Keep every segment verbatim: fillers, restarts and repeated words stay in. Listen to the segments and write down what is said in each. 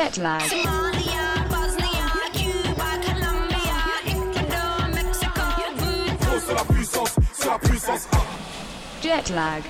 Jet lag. Somalia, Bosnia, Cuba, Colombia, Ecuador, Mexico. C'est la puissance, c'est la puissance. Jet lag.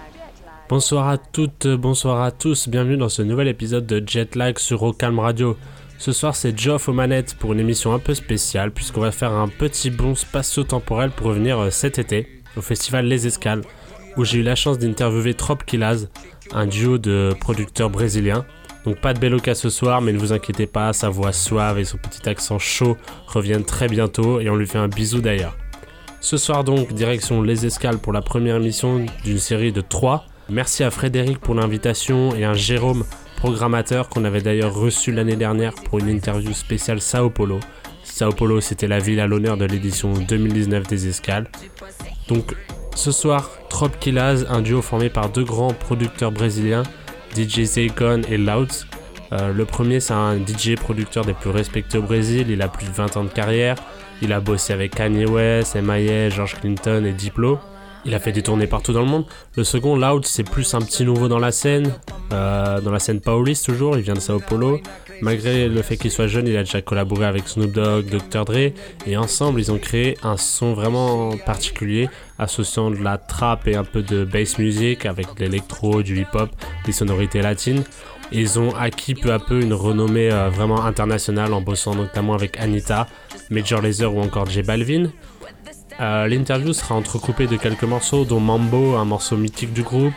Bonsoir à toutes, bonsoir à tous, bienvenue dans ce nouvel épisode de Jet lag sur Ocalm Radio. Ce soir c'est Geoff aux manettes pour une émission un peu spéciale puisqu'on va faire un petit bond spatio-temporel pour revenir cet été au festival Les Escales où j'ai eu la chance d'interviewer Trop Killaz, un duo de producteurs brésiliens. Donc pas de Beloka ce soir, mais ne vous inquiétez pas, sa voix suave et son petit accent chaud reviennent très bientôt et on lui fait un bisou d'ailleurs. Ce soir donc, direction Les Escales pour la première émission d'une série de trois. Merci à Frédéric pour l'invitation et à Jérôme, programmateur, qu'on avait d'ailleurs reçu l'année dernière pour une interview spéciale Sao Paulo. Sao Paulo, c'était la ville à l'honneur de l'édition deux mille dix-neuf des Escales. Donc ce soir, Trop Killaz, un duo formé par deux grands producteurs brésiliens, D J Zaycon et Louds. Euh, le premier, c'est un D J producteur des plus respectés au Brésil, il a plus de vingt ans de carrière. Il a bossé avec Kanye West, M I A, George Clinton et Diplo. Il a fait des tournées partout dans le monde. Le second, Louds, c'est plus un petit nouveau dans la scène, euh, dans la scène pauliste toujours, il vient de Sao Paulo. Malgré le fait qu'il soit jeune, il a déjà collaboré avec Snoop Dogg, docteur Dre, et ensemble, ils ont créé un son vraiment particulier, associant de la trap et un peu de bass music avec de l'électro, du hip-hop, des sonorités latines. Et ils ont acquis peu à peu une renommée euh, vraiment internationale en bossant notamment avec Anitta, Major Lazer ou encore J Balvin. Euh, l'interview sera entrecoupée de quelques morceaux, dont Mambo, un morceau mythique du groupe,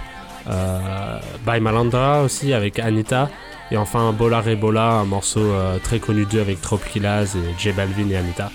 euh, By Malandra aussi avec Anitta, et enfin Bola Rebola, un morceau euh, très connu d'eux avec Trop Killaz et J Balvin et Anitta.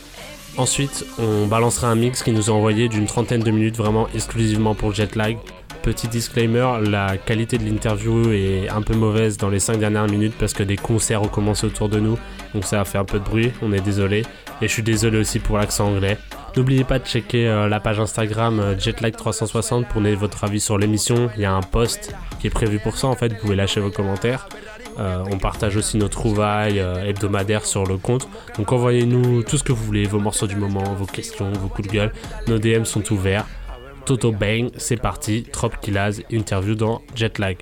Ensuite, on balancera un mix qui nous a envoyé d'une trentaine de minutes vraiment exclusivement pour Jet lag. Petit disclaimer, la qualité de l'interview est un peu mauvaise dans les cinq dernières minutes parce que des concerts ont commencé autour de nous, donc ça a fait un peu de bruit, on est désolé. Et je suis désolé aussi pour l'accent anglais. N'oubliez pas de checker euh, la page Instagram euh, Jetlag trois cent soixante pour donner votre avis sur l'émission. Il y a un post qui est prévu pour ça en fait, vous pouvez lâcher vos commentaires. Euh, on partage aussi nos trouvailles euh, hebdomadaires sur le compte. Donc envoyez-nous tout ce que vous voulez, vos morceaux du moment, vos questions, vos coups de gueule. Nos D M sont ouverts. Toto Bang, c'est parti, Trop Killaz, interview dans Jet lag.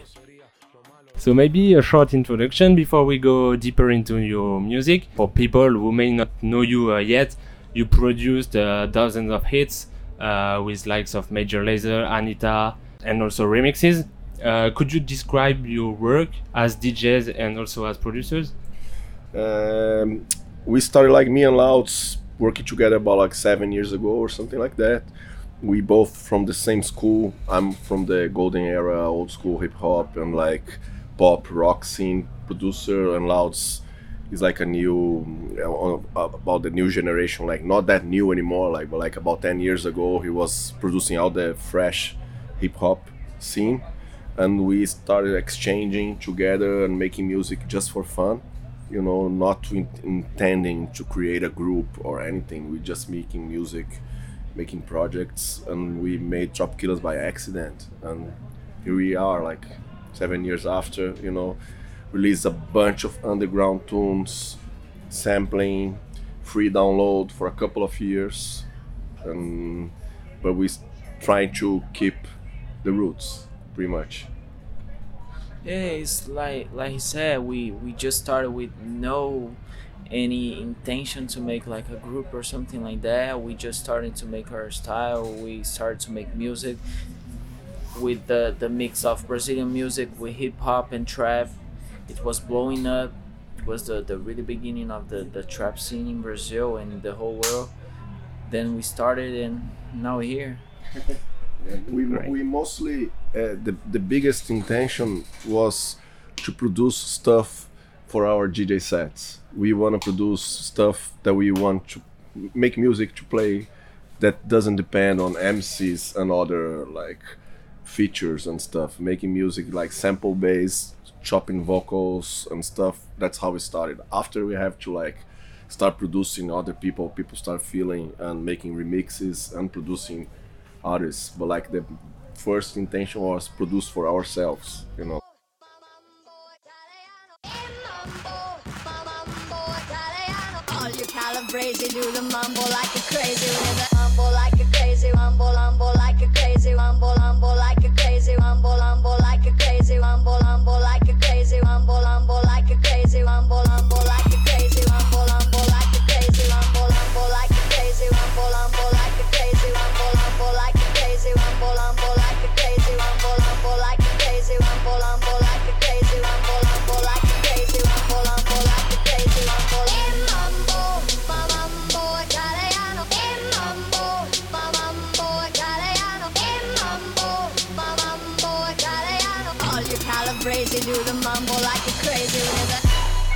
So maybe a short introduction before we go deeper into your music. For people who may not know you uh, yet, you produced uh, dozens of hits uh, with likes of Major Lazer, Anitta, and also remixes. Uh, could you describe your work as D Js and also as producers? Um, we started like me and Louds working together about like seven years ago or something like that. We both from the same school. I'm from the golden era, old school hip hop and like pop rock scene producer, and Louds is like a new uh, about the new generation, like not that new anymore, like but like about ten years ago he was producing all the fresh hip hop scene, and we started exchanging together and making music just for fun, you know, not in- intending to create a group or anything. We just making music, making projects, and we made Trop Killaz by accident, and here we are like seven years after, you know, released a bunch of underground tunes, sampling, free download for a couple of years, and but we trying to keep the roots pretty much. Yeah, it's like like he said, we we just started with no any intention to make like a group or something like that. We just started to make our style. We started to make music with the the mix of Brazilian music with hip hop and trap. It was blowing up. It was the the really beginning of the the trap scene in Brazil and the whole world. Then we started, and now we're here. we we mostly uh, the the biggest intention was to produce stuff for our D J sets. We want to produce stuff that we want to make music to play that doesn't depend on M Cs and other like features and stuff. Making music like sample based, chopping vocals and stuff. That's how we started. After we have to like start producing other people, people start feeling and making remixes and producing artists. But like the first intention was produce for ourselves, you know. Crazy, do the mambo like a crazy, with a mambo like a crazy, mambo, mambo like a crazy, mambo, mambo like a crazy, mambo, mambo like a crazy, mambo, mambo like a crazy, mambo, mambo like a crazy, do the mambo like a crazy with a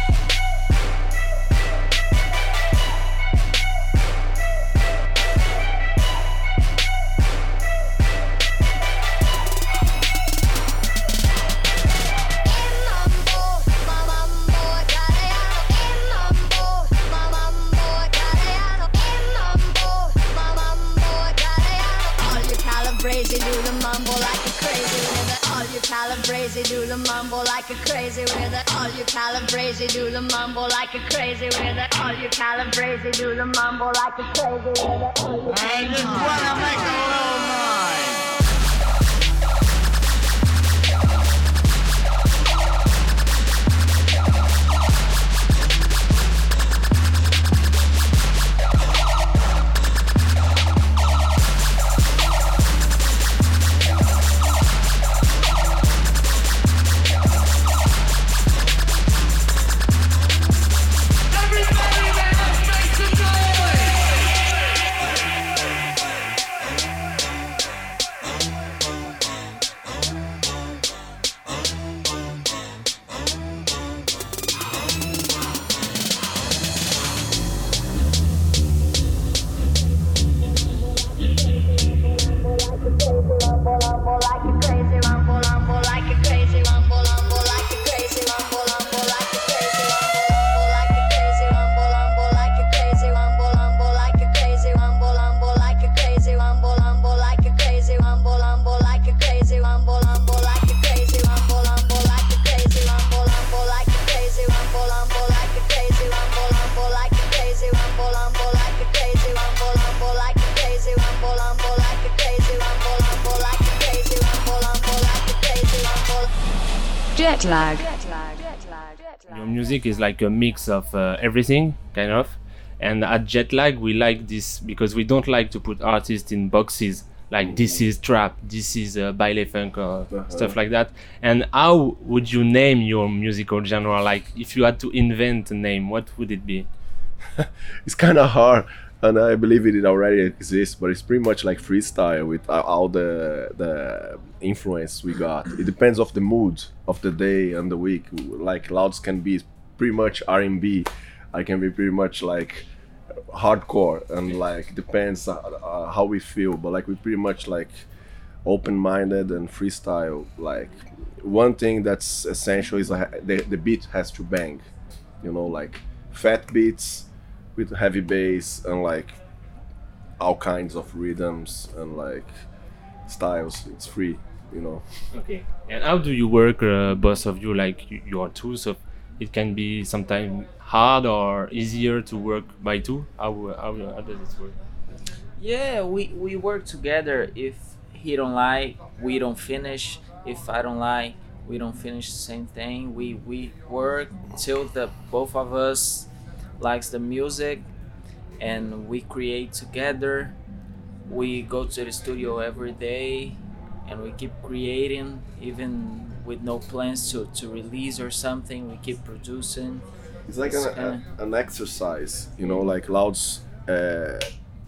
crazy, do the mambo like a crazy with it. All you calabrese do the mambo like a crazy with it. All you calabrese do the mambo like a crazy with it. All you calabrese do the mambo like a crazy with it. I just wanna make a little noise. Jet lag. Your music is like a mix of uh, everything, kind of. And at Jet Lag, we like this because we don't like to put artists in boxes. Like this is trap, this is uh, baile funk, or uh-huh. stuff like that. And how would you name your musical genre? Like if you had to invent a name, what would it be? It's kind of hard, and I believe it already exists, but it's pretty much like freestyle with all the the influence we got. It depends of the mood of the day and the week. Like Louds can be pretty much R and B, I can be pretty much like hardcore, and like depends uh, uh, how we feel, but like we pretty much like open-minded and freestyle. Like one thing that's essential is like the, the beat has to bang, you know, like fat beats with heavy bass and like all kinds of rhythms and like styles. It's free, you know. Okay. And how do you work, uh, both of you? Like you, you are two, so it can be sometimes hard or easier to work by two. How how, how does it work? Yeah, we we work together. If he don't like, we don't finish. If I don't like, we don't finish the same thing. We we work till the both of us likes the music, and we create together. We go to the studio every day, and we keep creating, even with no plans to, to release or something. We keep producing. It's like an, a, an exercise, you know, like Louds, uh,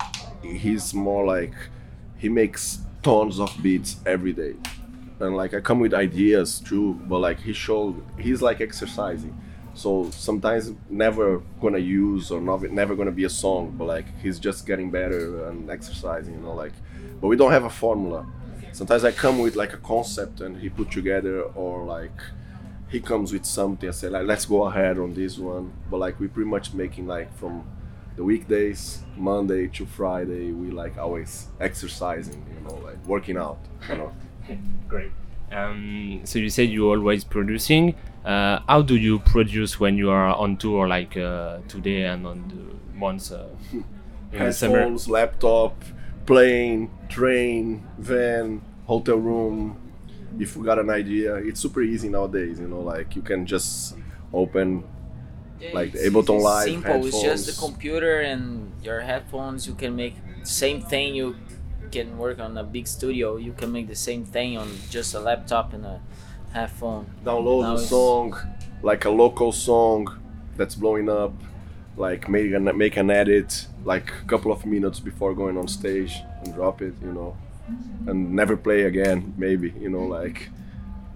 he's more like, he makes tons of beats every day. And like I come with ideas too, but like he showed, he's like exercising. So sometimes never gonna use or not, never gonna be a song, but like he's just getting better and exercising, you know, like, but we don't have a formula. Sometimes I come with like a concept and he put together, or like he comes with something, I say like, let's go ahead on this one. But like we pretty much making like from the weekdays, Monday to Friday, we like always exercising, you know, like working out, you know. Great. Um, so you said you're always producing. Uh, how do you produce when you are on tour, like uh, today and on the months uh, in the summer? Headphones, laptop, plane, train, van, hotel room. If we got an idea, it's super easy nowadays, you know, like you can just open Yeah, like the it's- Ableton it's Live simple. headphones. It's just the computer and your headphones. You can make the same thing. You can work on a big studio. You can make the same thing on just a laptop and a headphone. Download Now a it's- song, like a local song that's blowing up, like make an, make an edit, like a couple of minutes before going on stage and drop it, you know, and never play again, maybe, you know, like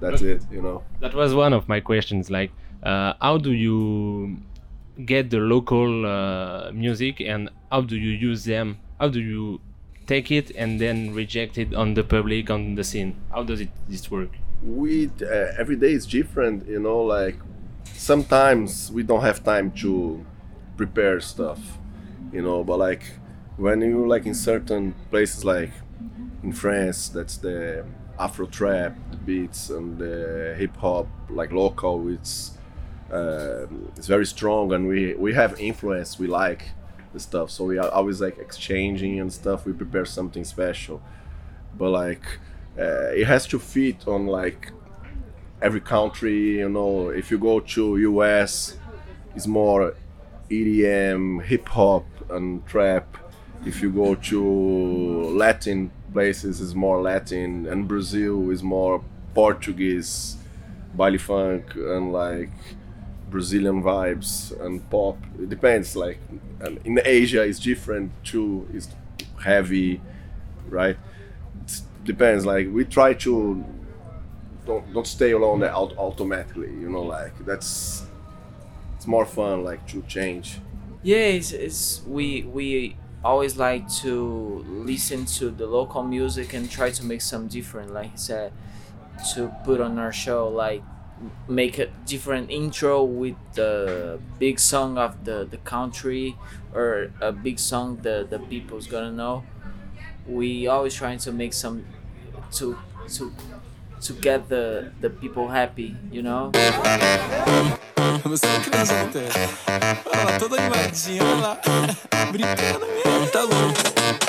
That's it, you know. That was one of my questions. Like, uh, how do you get the local uh, music, and how do you use them? How do you take it and then reject it on the public, on the scene? How does it this work? We uh, every day is different, you know. Like sometimes we don't have time to prepare stuff, you know. But like when you like in certain places, like in France, that's the Afro trap beats and the hip hop, like local. It's uh, it's very strong, and we we have influence. We like the stuff, so we are always like exchanging and stuff. We prepare something special, but like uh, it has to fit on like every country, you know. If you go to U S, it's more E D M, hip hop and trap. If you go to Latin places, it's more Latin, and Brazil is more Portuguese, baile funk and like Brazilian vibes and pop. It depends. Like in Asia, it's different too. It's heavy, right? It depends. Like we try to don't don't stay alone out automatically. You know, like that's it's more fun. Like to change. Yeah, it's, it's we we always like to listen to the local music and try to make some different. Like he said, to put on our show, like make a different intro with the big song of the, the country or a big song the, the people's gonna know. We always trying to make some to to to get the, the people happy, you know? Você é criança não tem. Olha lá, toda animadinha, olha lá. Brincando mesmo, tá louco.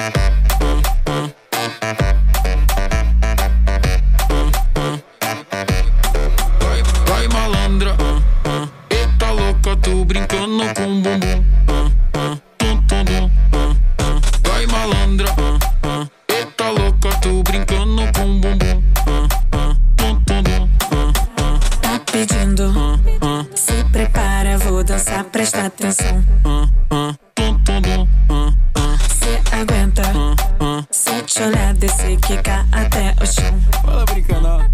Tô brincando com o bumbum. Tum, tum, tum. Vai malandra. Eita louca, tô brincando com o bumbum. Tum, tum, tum. Tá pedindo, se prepara, vou dançar, presta atenção. Tum, tum, tum. Se aguenta, se te olhar, descer, quicar até o chão. Fala brincando, ó.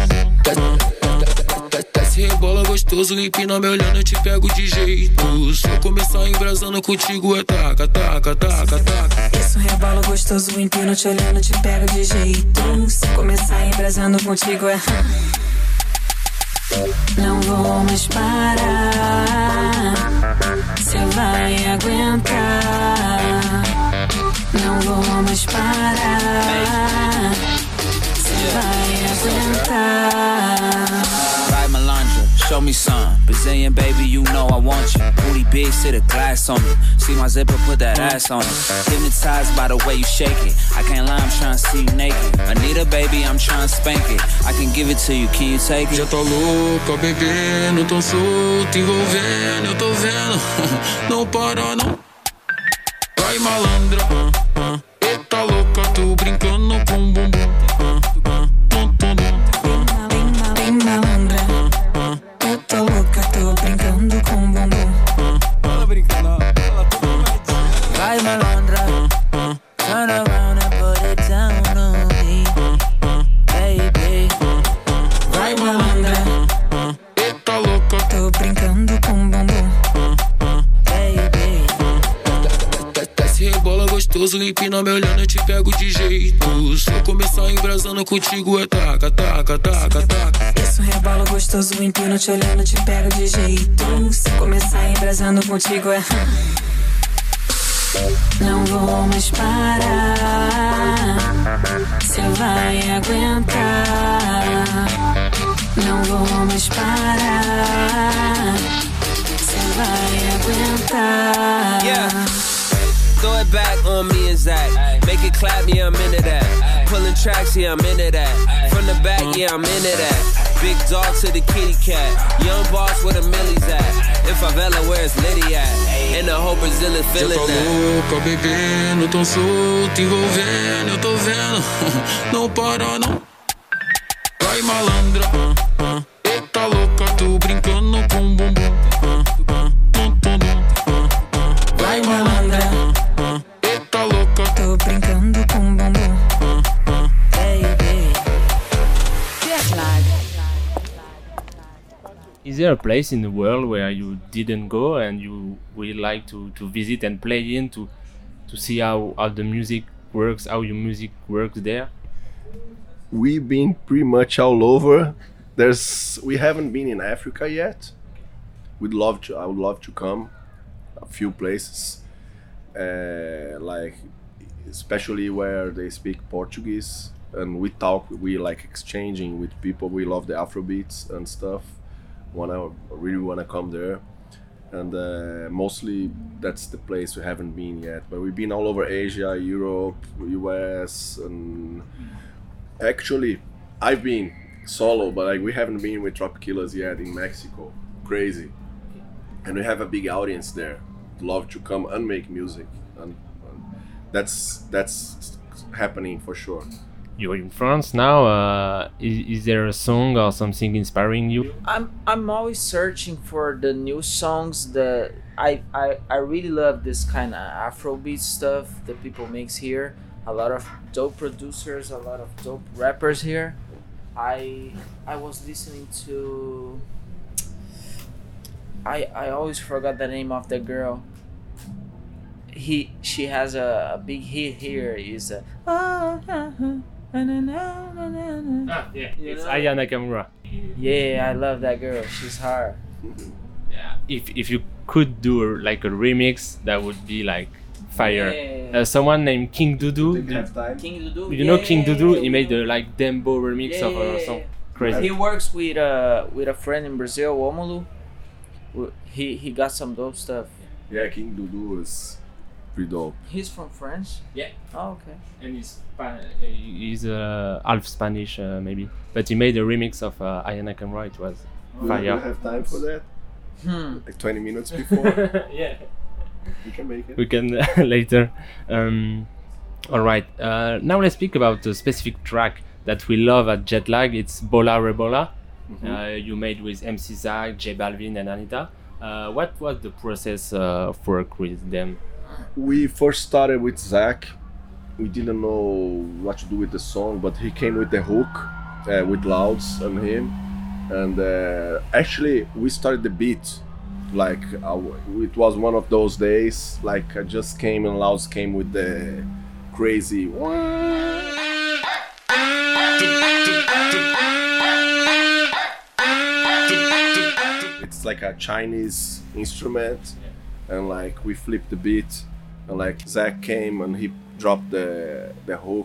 Desce, rebola gostoso, empina me olhando, eu te pego de jeito. Se eu começar embrasando contigo é taca, taca, taca, taca. Isso, rebola gostoso, empina te olhando, te pego de jeito. Se começar embrasando contigo é... Não vou mais parar, cê vai aguentar. Não vou mais parar, cê vai aguentar. Vai malandra, show me some. Brazilian baby, you know I want you. Booty big, sit a glass on me. See my zipper, put that ass on it. Hypnotized by the way you shake it. I can't lie, I'm trying to see you naked. Anita baby, I'm trying to spank it. I can give it to you, can you take it? Já tá louca, bebendo, tão solto, envolvendo, eu tô vendo. Não para, não. Vai malandra, eita louca, tô brincando com o bumbum. Bem malandra, eu tô louca, tô brincando com o bumbum. Fala brincando, fala tudo mais. Vai malandra, turn around and put it down on me, baby. Vai malandra, eita louca, tô brincando com o bumbum. Baby. Desce, rebola gostoso, empina me olhando, eu te pego de jeito. Se eu começar embrasando contigo é taca, taca, taca, taca. Isso, rebola gostoso, empina te olhando, te pego de jeito. Se começar embrasando contigo é... Não vou mais parar, cê vai aguentar. Não vou mais parar, cê vai aguentar. Yeah. Throw it back on me and Zach. Make it clap, yeah, I'm into that. Pulling tracks, yeah, I'm into that. From the back, yeah, I'm into that. Big dog to the kitty cat. Young boss where the millies at. In favela, where it's Liddy at. And the whole Brazil is feeling that. Já tá louca, bebendo, tão solto, envolvendo, eu tô vendo. Não para, não. Vai malandra, eita louca, tô brincando com o bumbum. Vai malandra, eita louca, tô brincando com o bumbum. Baby. Jet lag. Is there a place in the world where you didn't go and you would like to, to visit and play in to to see how, how the music works, how your music works there? We've been pretty much all over. There's we haven't been in Africa yet. We'd love to. I would love to come. A few places, uh, like especially where they speak Portuguese, and we talk. We like exchanging with people. We love the Afrobeats and stuff. Wanna really wanna come there, and uh, mostly that's the place we haven't been yet. But we've been all over Asia, Europe, U S, and actually I've been solo, but like we haven't been with Tropikillaz yet in Mexico. Crazy, and we have a big audience there. Love to come and make music, and, and that's that's happening for sure. You're in France now. Uh, is, is there a song or something inspiring you? I'm I'm always searching for the new songs that I I, I really love this kind of Afrobeat stuff that people makes here. A lot of dope producers, a lot of dope rappers here. I I was listening to. I I always forgot the name of the girl. He she has a, a big hit here. Is a. Oh, uh, uh. Ah, yeah, You it's know? Aya Nakamura. Yeah, I love that girl. She's hard. Yeah. If if you could do a, like a remix, that would be like fire. Yeah. Uh, someone named King Dudu. We have time. King Dudu. You know yeah, King yeah, Dudu? yeah, He made know. the like Dembo remix Yeah, of yeah, a yeah, song. yeah. Crazy. He works with uh with a friend in Brazil, Omulu. He he got some dope stuff. Yeah, King Dudu is pretty dope. He's from France. Yeah. Oh, okay. And he's Spa- he's uh, half Spanish uh, maybe, but he made a remix of uh, Aya Nakamura. It was Do fire. we have time for that? Hmm. Like twenty minutes before. Yeah. We can make it. We can later. Um, all right. Uh, now let's speak about a specific track that we love at Jetlag. It's Bola Rebola. Mm-hmm. Uh, you made with M C Zach, J Balvin, and Anita. Uh, what was the process uh, of work with them? We first started with Zach. We didn't know what to do with the song, but he came with the hook, uh, with Louds and him. And uh, actually, we started the beat. Like, uh, it was one of those days. Like, I just came and Louds came with the crazy. It's like a Chinese instrument, and like we flipped the beat, and like Zach came and he dropped the the hook.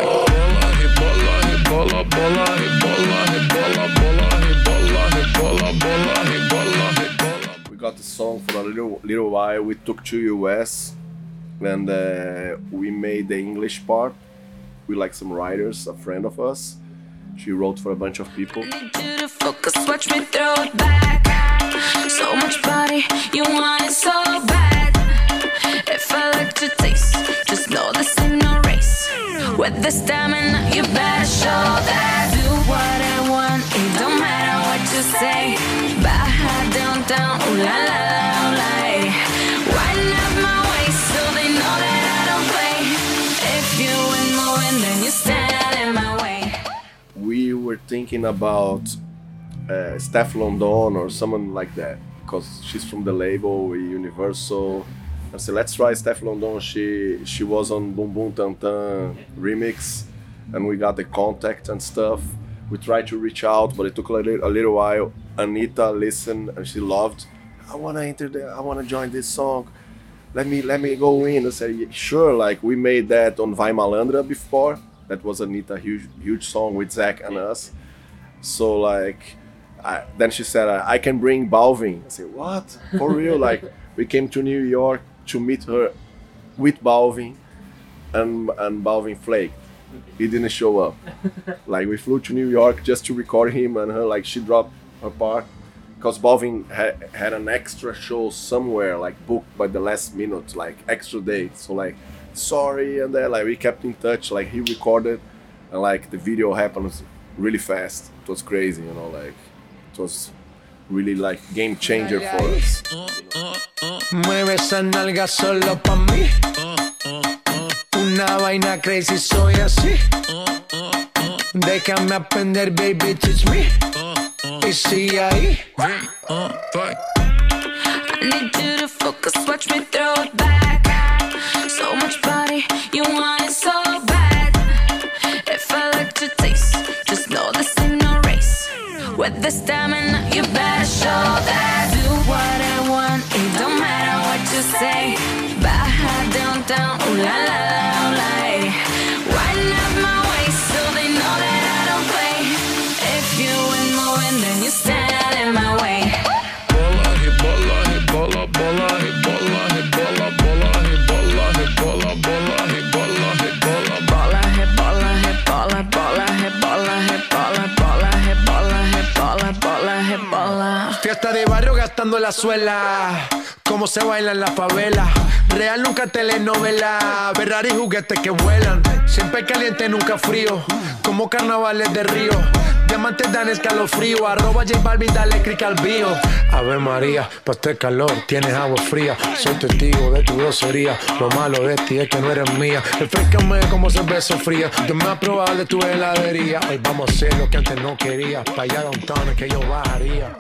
We got the song for a little little while. We took to U S and uh, we made the English part with like some writers, a friend of us. She wrote for a bunch of people. Focus, watch me throw it back. So much body, you want it so bad. If I like to taste, just know this ain't no race. With the stamina, you better show that. Do what I want, it don't matter what you say. Baja down, down, ooh la la la, ooh la. Wind up my waist so they know that I don't play. If you ain't moving, then you stand in my way. We were thinking about uh, Steph London or someone like that, because she's from the label Universal. I said, let's try Steph London. She she was on Boom Boom Tan Tan remix, and we got the contact and stuff. We tried to reach out, but it took a little, a little while. Anita listened and she loved. I wanna enter there. I wanna join this song. Let me let me go in. I said, yeah, sure. Like we made that on Vai Malandra before. That was Anita huge huge song with Zach and us. So like, I, then she said, I, I can bring Balvin. I said, what? For real? Like we came to New York to meet her with Balvin, and and Balvin flaked. He didn't show up. Like we flew to New York just to record him and her. Like she dropped her part because Balvin ha- had an extra show somewhere, like booked by the last minute, like extra date. So like, sorry, and then like we kept in touch. Like he recorded, and like the video happened really fast. It was crazy, you know. Like it was really like game changer for us. Mueve esa nalga solo pa' mí. Una vaina crazy, soy así. Déjame aprender, baby, teach me. Y sigue ahí. I need you to focus, watch me throw it back. So much body, you want it so bad. If I like to taste, just know this ain't no race. With the stamina, you better show that. Do what I want, it don't matter what you say. Baja down, down, ooh la la la, ooh la. Wind up my waist so they know that I don't play. If you ain't moving, then you stand in my way. Bola, hit bola, hit bola, bola, hit bola, hit bola, bola, hit bola, hit bola, bola, hit bola, hit bola. Bola, hit bola, hit bola, bola, hit bola, hit bola, bola, hit bola, hit bola, bola, hit bola. Fiesta de barrio gastando la suela. Cómo se baila en la favela. Real nunca telenovela. Ferrari juguetes que vuelan. Siempre caliente, nunca frío. Como carnavales de Río. Diamantes dan escalofrío. Arroba J Balvin, dale click al bio. Ave María, pa' este calor tienes agua fría. Soy testigo de tu grosería. Lo malo de ti es que no eres mía. Refrescame como cerveza fría. Yo me voy a probar de tu heladería. Hoy vamos a hacer lo que antes no quería. Pa' allá downtown es que yo bajaría.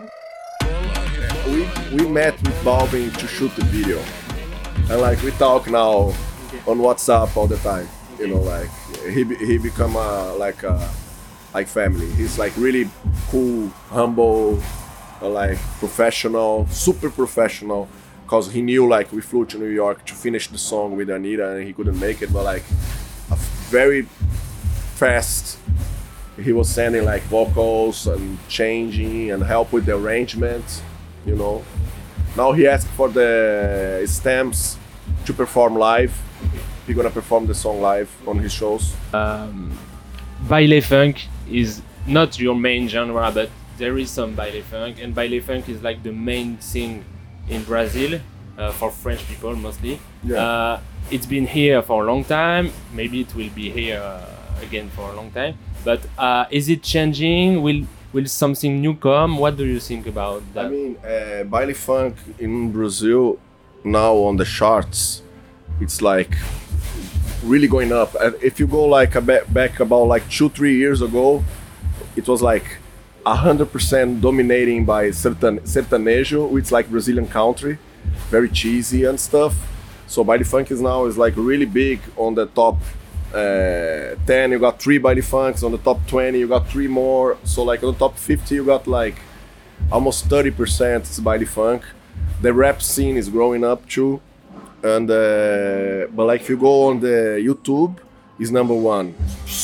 We we met with Balvin to shoot the video, and like we talk now on WhatsApp all the time. You know, like he be- he become a like a like family. He's like really cool, humble, uh, like professional, super professional. Cause he knew like we flew to New York to finish the song with Anita, and he couldn't make it. But like a very fast. He was sending like vocals and changing and help with the arrangements, you know. Now he asked for the stems to perform live. He's gonna perform the song live on his shows. Um, baile funk is not your main genre, but there is some baile funk, and baile funk is like the main thing in Brazil uh, for French people mostly. Yeah. Uh, it's been here for a long time. Maybe it will be here uh, again for a long time. But uh, is it changing? Will will something new come? What do you think about that? I mean, uh, baile funk in Brazil now on the charts, it's like really going up. And if you go like a ba- back about like two, three years ago, it was like a hundred percent dominating by certain sertanejo, which is like Brazilian country, very cheesy and stuff. So baile funk is now is like really big on the top. Uh, ten you got three baile funks. On the top twenty you got three more. So like on the top fifty you got like almost thirty percent is baile funk. The rap scene is growing up too, and uh, but like if you go on the YouTube, is number one,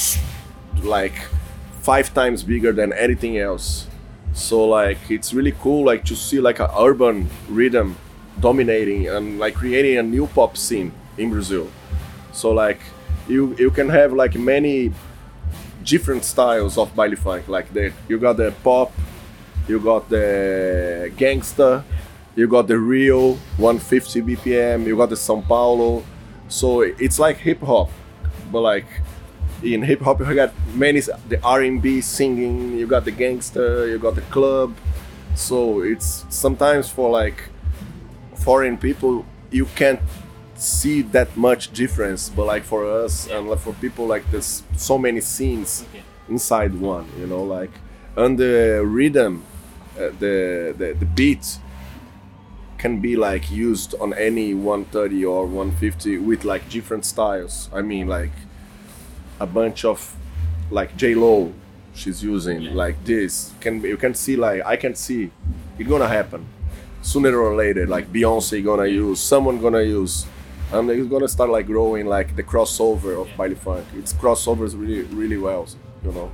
like five times bigger than anything else. So like it's really cool like to see like a urban rhythm dominating and like creating a new pop scene in Brazil. So like You you can have like many different styles of baile funk. Like the you got the pop, you got the gangsta, you got the Rio one fifty B P M, you got the São Paulo. So it's like hip hop, but like in hip hop you got many the R and B singing. You got the gangsta, you got the club. So it's sometimes for like foreign people you can't see that much difference, but like for us and like for people like there's so many scenes inside one, you know, like and the rhythm, uh, the, the the beat can be like used on any one thirty or one fifty with like different styles. I mean like a bunch of like J-Lo she's using yeah. like this can you can see like I can see it gonna happen sooner or later, like Beyonce gonna use, someone gonna use. And it's gonna start like growing like the crossover of baile funk. It's crossovers really, really well, you know.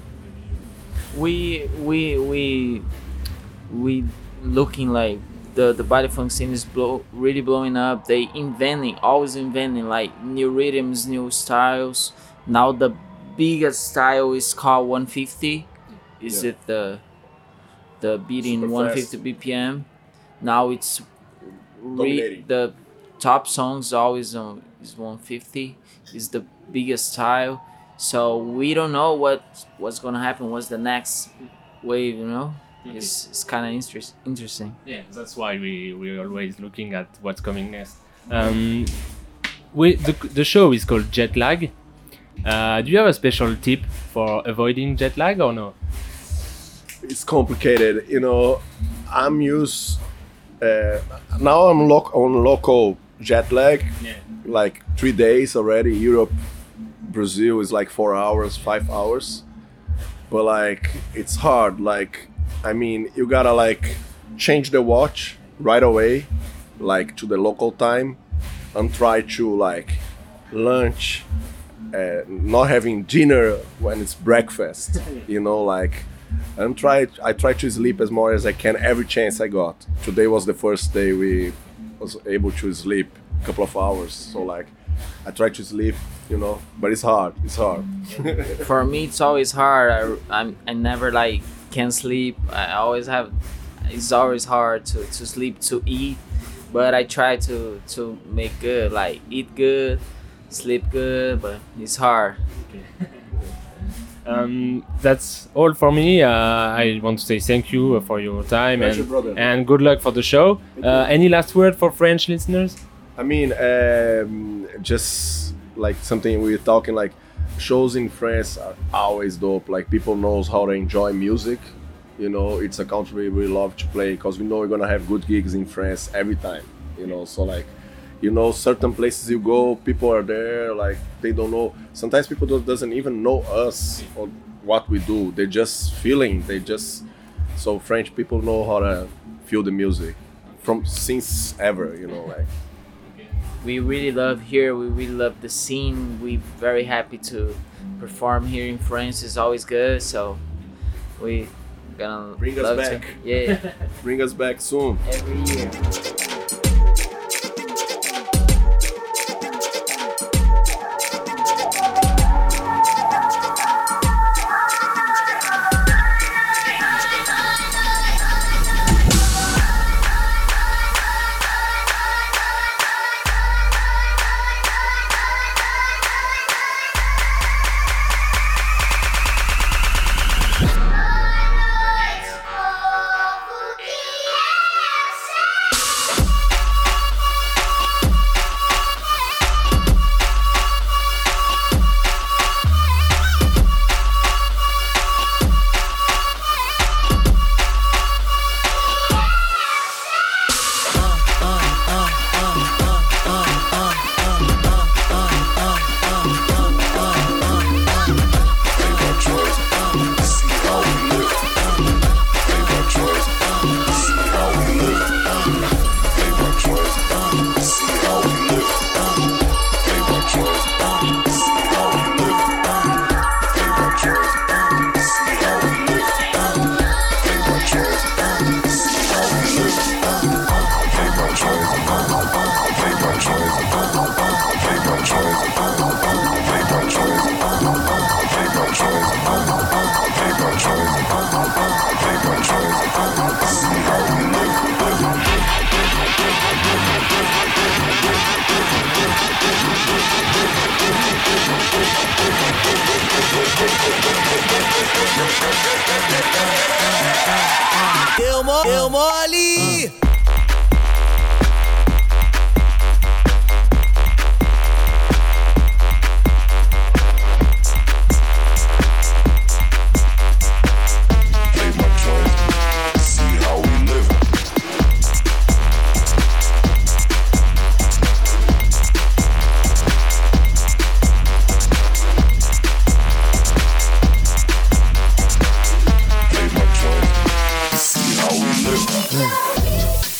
We we we we looking like the the baile funk scene is blow, really blowing up. They inventing, always inventing like new rhythms, new styles. Now the biggest style is called one fifty. Is yeah. it the the beating one fifty B P M? Now it's re- the top songs always on is one fifty, is the biggest style. So we don't know what what's gonna happen. What's the next wave? You know, okay. it's it's kind of interest, interesting. Yeah, that's why we we're always looking at what's coming next. Um, we the the show is called Jet Lag. Uh, do you have a special tip for avoiding jet lag or no? it's complicated. You know, I'm used. Uh, now I'm lo- on local jet lag. Yeah. Like three days already. Europe, Brazil is like four hours, five hours. But like it's hard. Like I mean, you gotta like change the watch right away, like to the local time, and try to like lunch. Uh, not having dinner when it's breakfast, you know, like, and try. I try to sleep as more as I can every chance I got. Today was the first day we was able to sleep a couple of hours, so like, I try to sleep, you know, but it's hard. It's hard. For me, it's always hard. I I'm, I never like can sleep. I always have. It's always hard to, to sleep, to eat, but I try to to make good, like eat good. Sleep good, but it's hard. Um, that's all for me. Uh, I want to say thank you for your time Pleasure, and, brother. and good luck for the show. Uh, any last word for French listeners? I mean, um, just like something we were talking, like shows in France are always dope. Like people knows how to enjoy music. You know, it's a country we love to play because we know we're gonna have good gigs in France every time. You know, so like. You know, certain places you go, people are there, like, they don't know. Sometimes people don't, doesn't even know us or what we do. They're just feeling, they just... So French people know how to feel the music from since ever, you know, like. We really love here, we really love the scene. We're very happy to perform here in France. It's always good, so we gonna Bring us love back. To, yeah. Bring us back soon. Every year. Deu mo- deu mole! See how we live.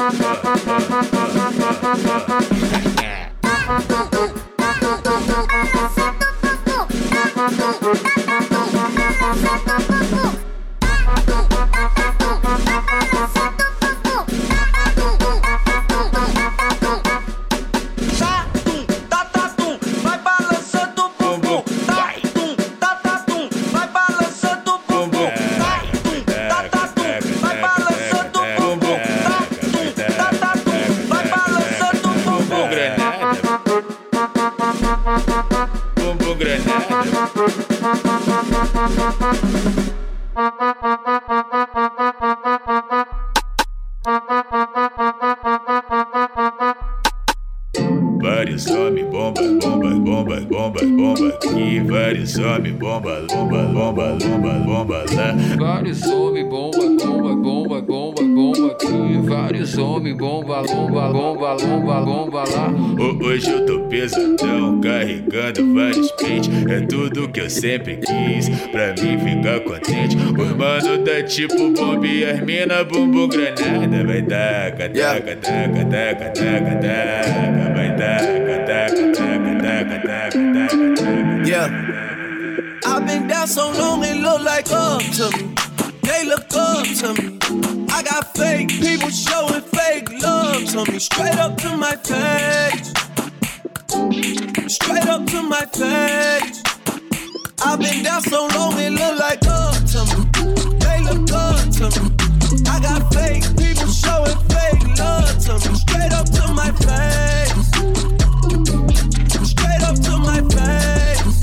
Vários homem bomba, bomba, bomba, bomba, bomba aqui. Vários homem bomba, bomba, bomba, bomba, bomba lá. Vários homem bomba, bomba, bomba, bomba, bomba aqui. Vários homem bomba, bomba, bomba, bomba, bomba lá. Hoje eu tô pesadão, carregando vários pentes. É tudo que eu sempre quis, pra mim ficar contente. Os mano tá tipo bomba e as mina bumbum granada. Vai taca, taca, taca, taca, taca, taca. Vai taca, taca, taca, taca, taca, taca. Yeah. I've been down so long it look like up to me. They look up to me. I got fake people showing fake love to me. Straight up to my face. Straight up to my face. I've been down so long it look like up to me. They look up to me. I got fake people showing fake love to me. Straight up to my face. Straight up to my face.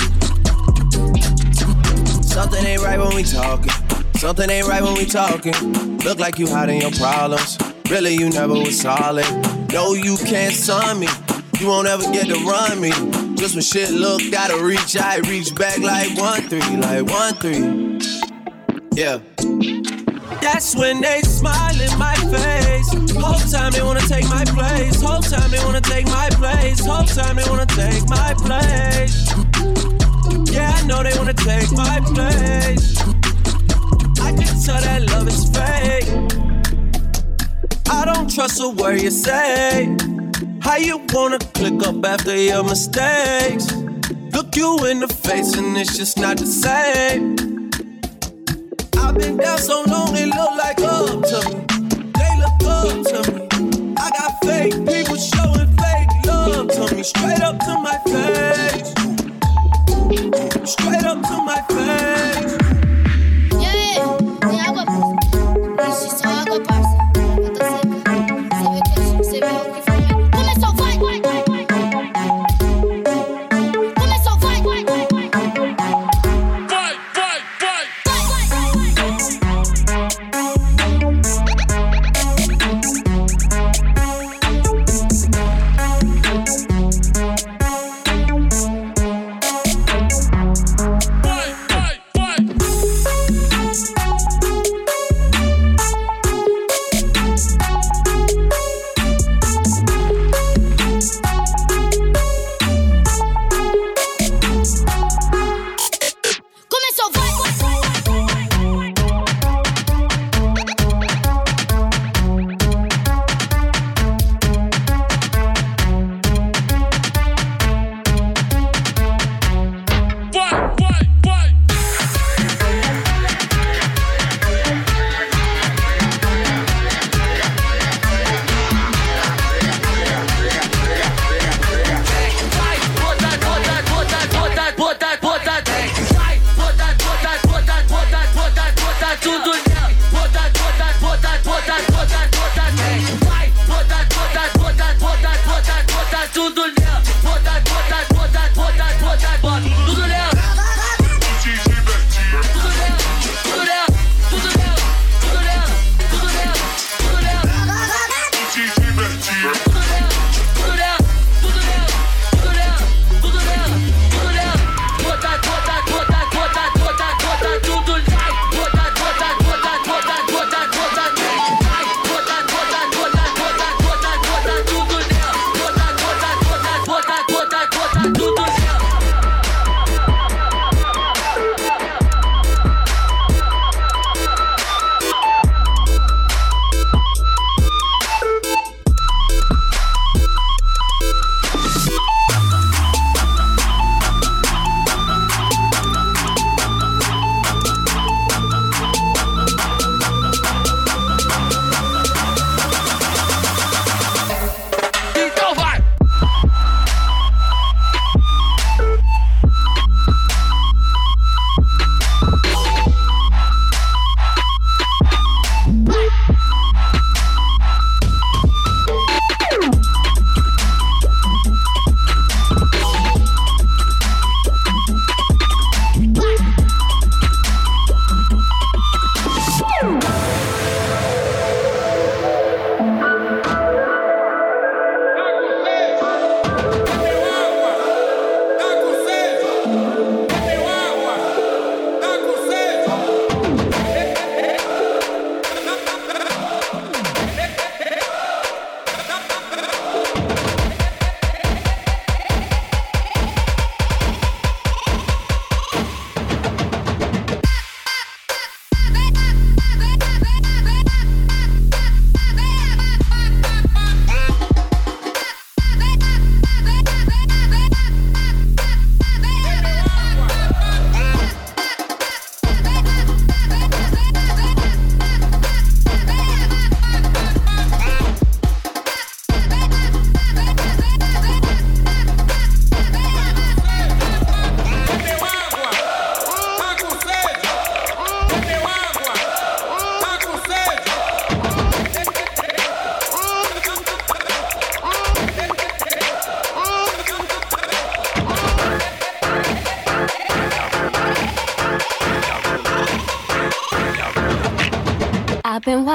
Something ain't right when we talking. Something ain't right when we talking. Look like you hiding your problems. Really, you never was solid. No, you can't son me. You won't ever get to run me. Just when shit look, gotta reach, I reach back like one three, like one three. Yeah. That's when they smile in my face. Whole time they wanna take my place. Whole time they wanna take my place. Whole time they wanna take my place. Yeah, I know they wanna take my place. I can tell that love is fake. I don't trust a word you say. How you wanna click up after your mistakes? Look you in the face and it's just not the same. I've been down so long it look like up to me. They look up to me. I got fake people showing fake love to me. Straight up to my face. Straight up to my face. Yeah, tem água, parça. Isso só água, parça. Eu tô seca. Você vê que eu, você vê o que foi. Começou, vai, vai, vai, vai. Começou, vai, vai, vai, vai. Vai, vai, vai.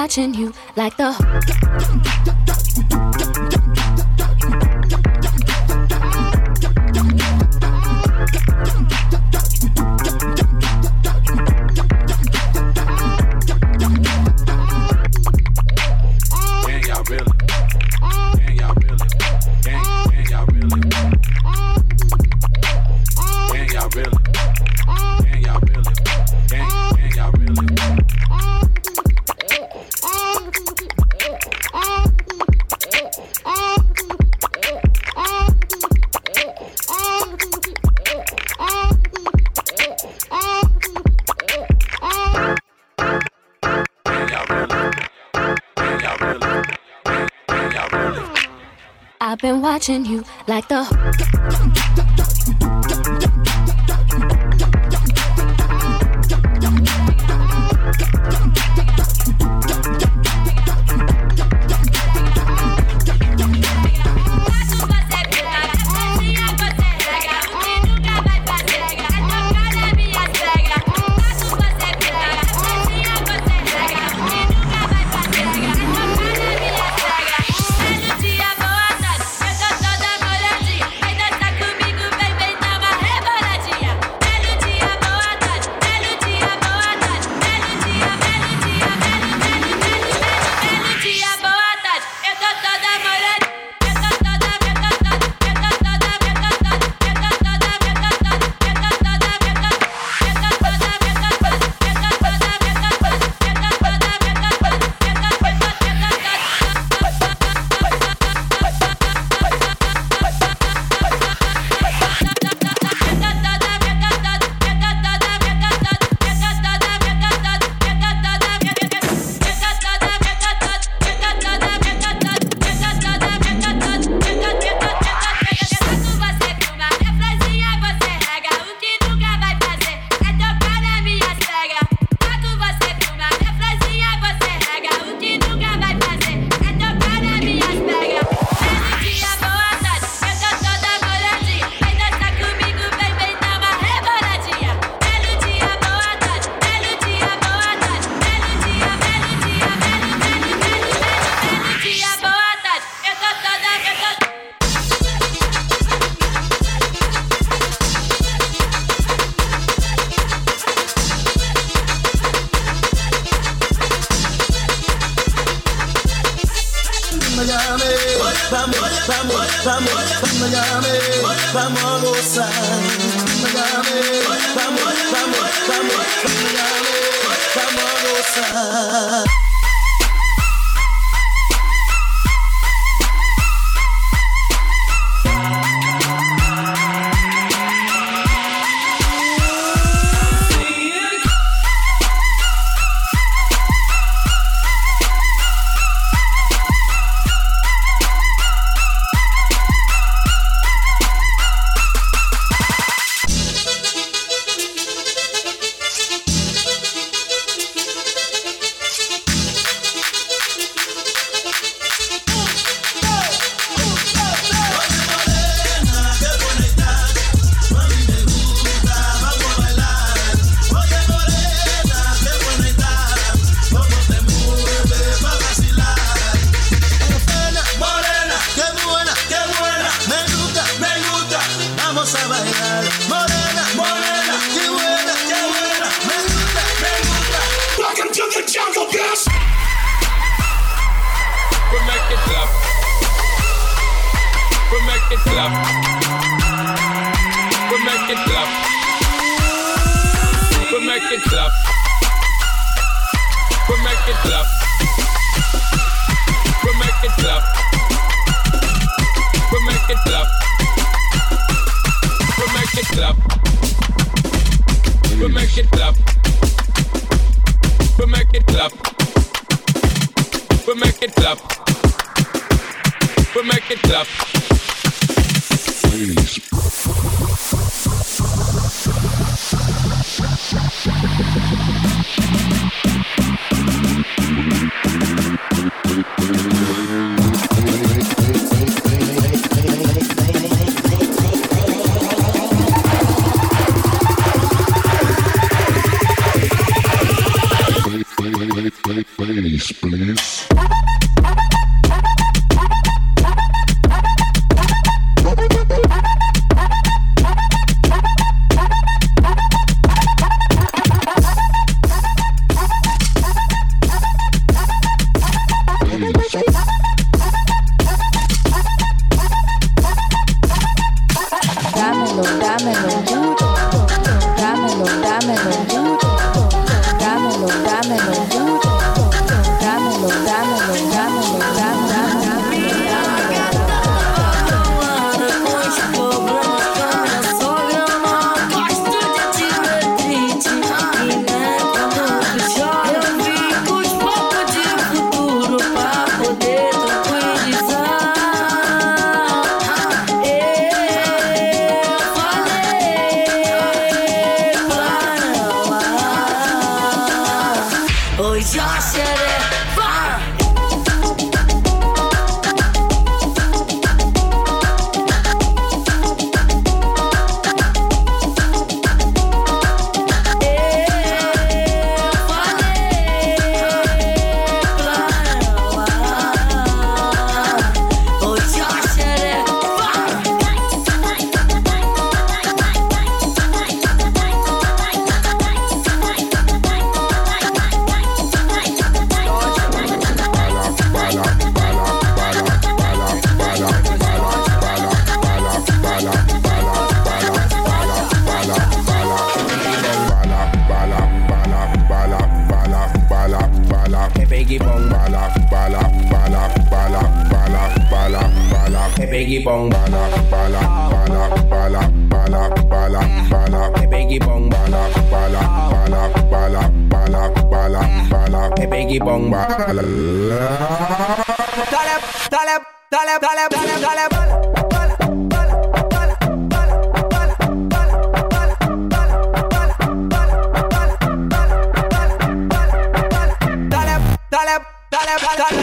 watching you like the. I've been watching you like the. Vamos, vamos, vamos, vamos, vamos a gozar. Vamos, vamos, vamos, vamos, vamos a gozar. Please, please. Biggie bong bala, bala, bala, bala, bala, bala, bala. Biggie bong bala, bala, bala, bala, bala, bala, bala. Biggie bong bala. Dale, dale, dale, dale, dale, dale, bala. Dale, dale, dale, dale,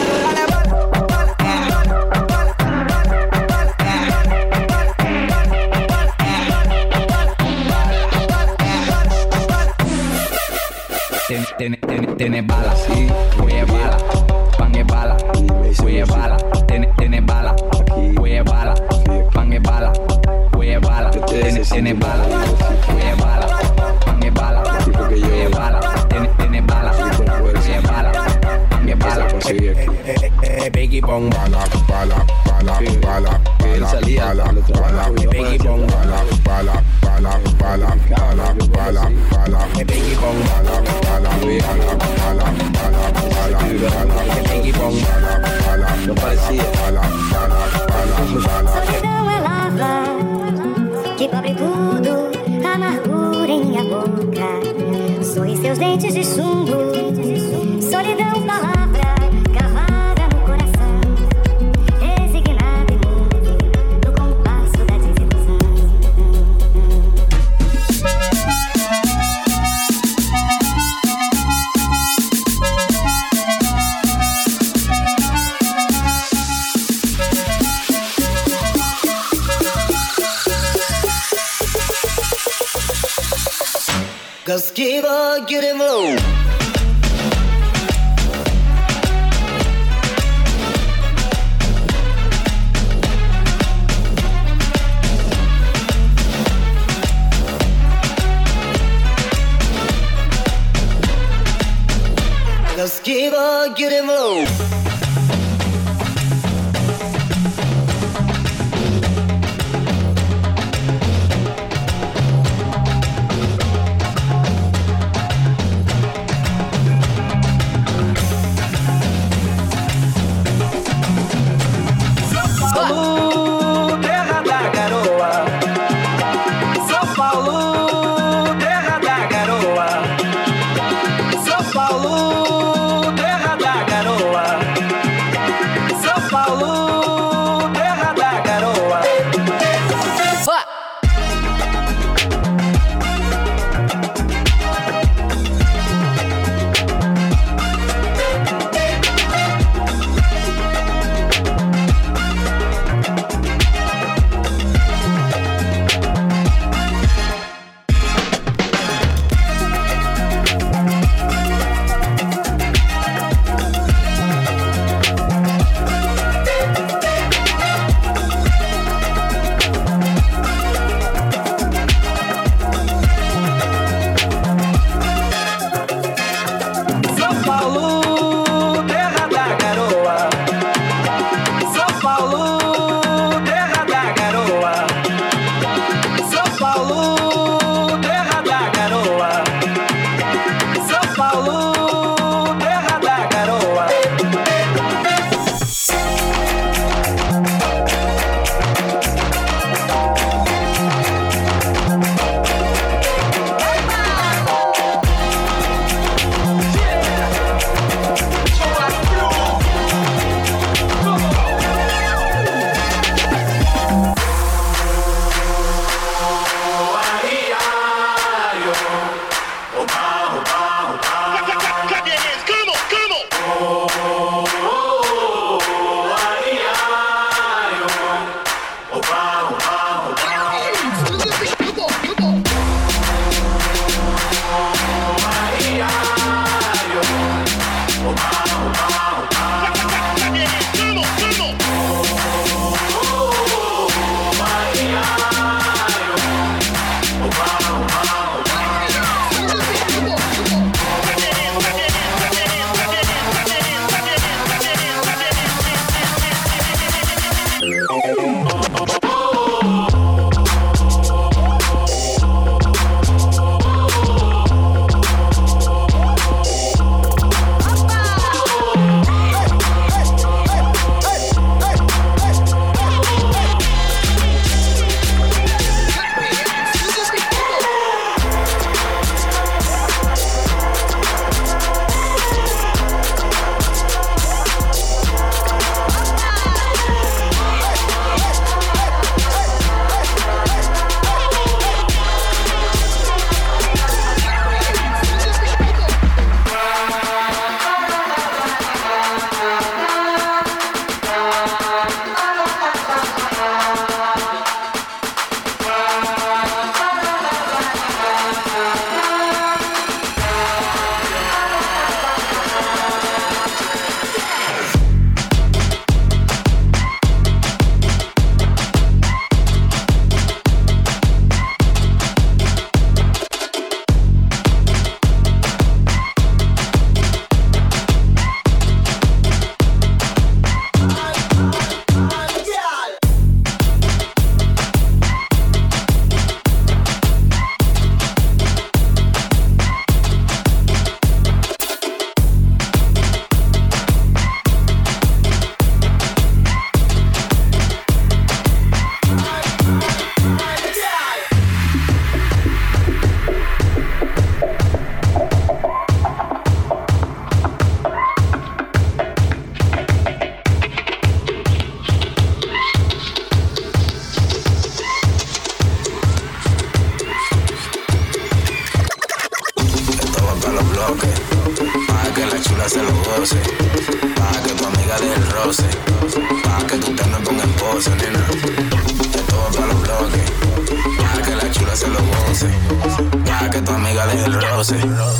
Tiene, tiene, tiene bala, sí, voy a bala, pan es bala, voy a bala, tiene, tiene bala, voy a bala, pan es bala, voy a bala, tiene, tiene bala, voy a bala, pan es bala, voy a bala, tiene, tiene bala, voy a bala, pan es bala. Biggie bong bala, bala, bala, bala, bala, bala, bala. Biggie bong bala, bala, bala, bala, bala, bala, bala. Biggie bong bala, bala, bala, bala, bala, bala, bala. Biggie bong bala, bala, não parecia, bala, bala, bala, bala. Solidão é lava que cobre tudo, amargura em minha boca. Sorri seus dentes de chumbo. Solidão, palavra gravada no coração, resignada e muda no compasso da desilusão. Cause keep on getting low. Cause keep on getting low. Pa' que tú tengas con esposa, nena. De todo para los bloques. Pa' que la chula se lo goce. Pa' que tu amiga deje el roce.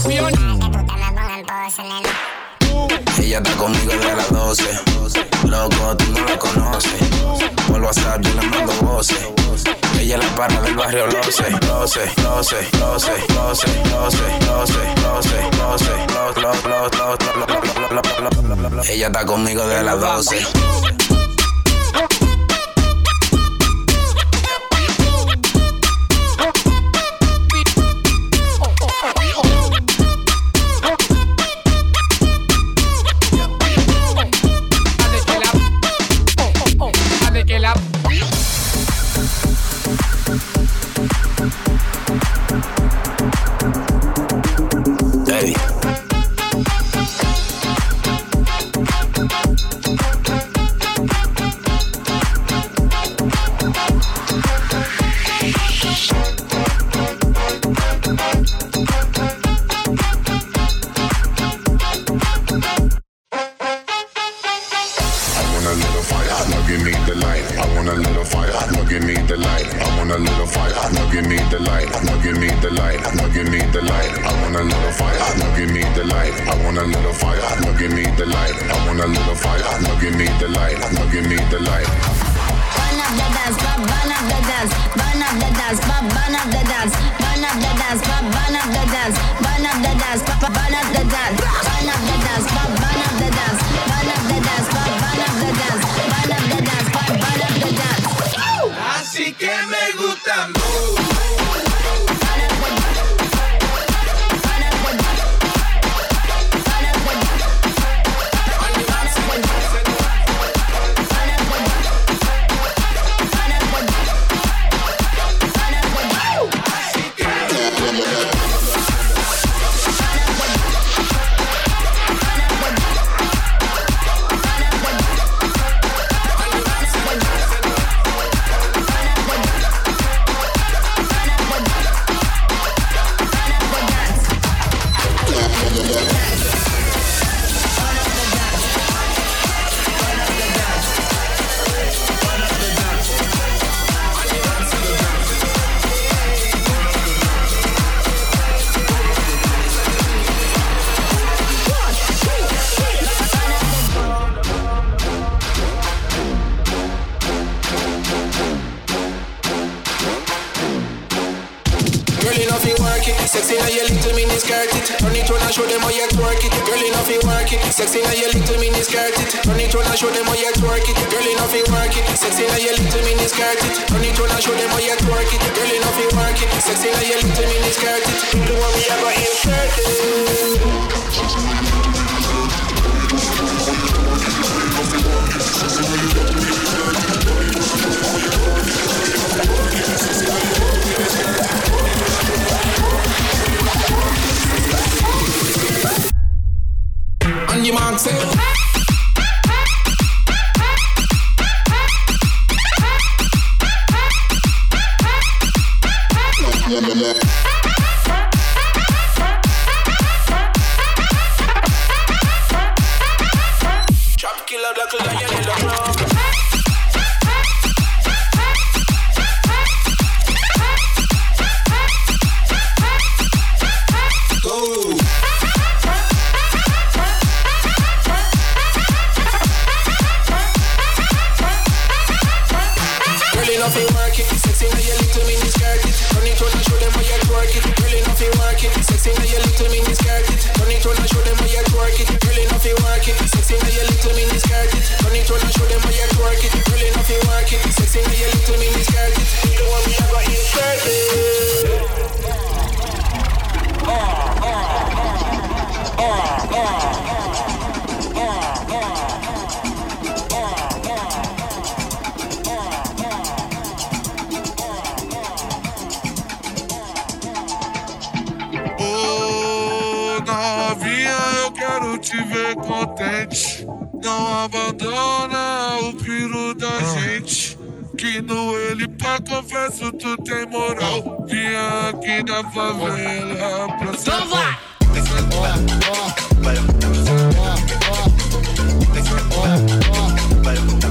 Ella está conmigo desde las doce. Loco, tú no la conoces. Por WhatsApp yo le mando voces. Ella es la parra del barrio Loce. Loce, Loce, Loce, Loce, Loce, Loce, Loce, Loce, Loce. Ella está conmigo desde las doce. Así que me gusta mucho. Sexy now you little mini skirt it. Turn it round and show them how you twerk it. Girl enough you work it. Sexy now you little mini skirt it. Turn it round and show them how you twerk it. Girl enough you work it. Sexy now you little mini skirt it. Turn it round and show them how you twerk it. Girl enough you work it. Sexy now you little mini skirt it. The one we ever insert it. On your mark, say. Trap killer, black lion in the club. Go. Sexy now you little mini skirt it. Turn it round and show them how you twerk it. Girl enough you work it. Sexy now you little mini skirt it. Turn it round and show them how you twerk it. Girl enough you work it. Sexy now you little mini skirt it. Turn it round and show them how you twerk it. Girl enough you work it. Sexy now you little mini skirt it. The one we ever insert it. Ah ah ah ah ah. Te ver contente, não abandona o piro da gente. Que no ele pra confesso tu tem moral. Vinha aqui da favela pra ser. Então vai! cuerpo.